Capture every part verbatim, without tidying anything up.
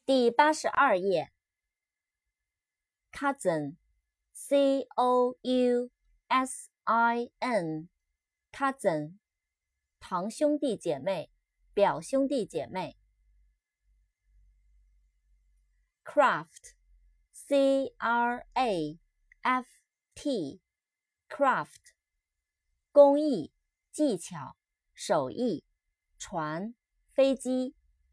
第八十二页 cousin C O U S I N cousin 堂兄弟姐妹表兄弟姐妹 craft C R A F T craft 工艺技巧手艺船飞机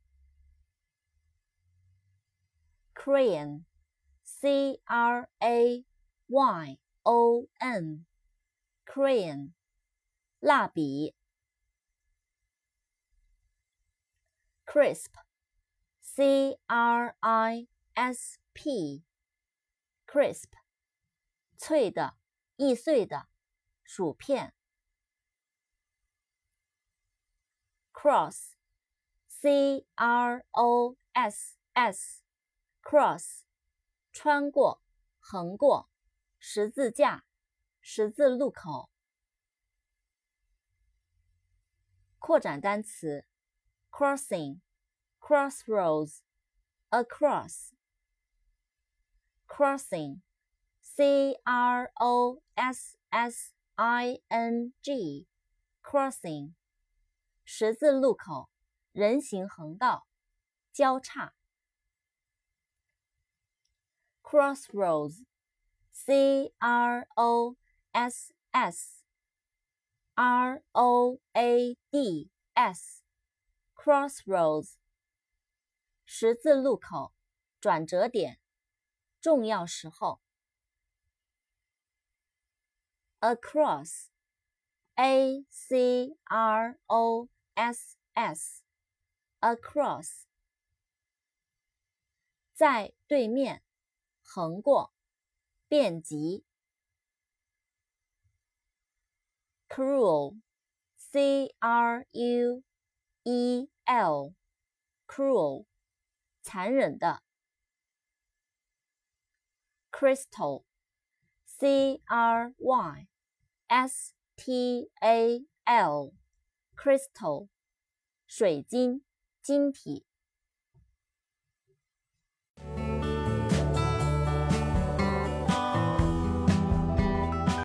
Crayon C R A Y O N Crayon 蜡笔 Crisp C R I S P Crisp 脆的易碎的薯片 Cross C R O S S Cross 穿过横过十字架十字路口扩展单词 crossing crossroads across crossing C R O S S I N G crossing 十字路口人行横道交叉Crossroads C R O S S R O A D S Crossroads 十字路口转折点重要时候 Across A C R O S S Across 在对面横过遍及 Cruel C R U E L Cruel 残忍的 Crystal C R Y S T A L Crystal 水晶晶体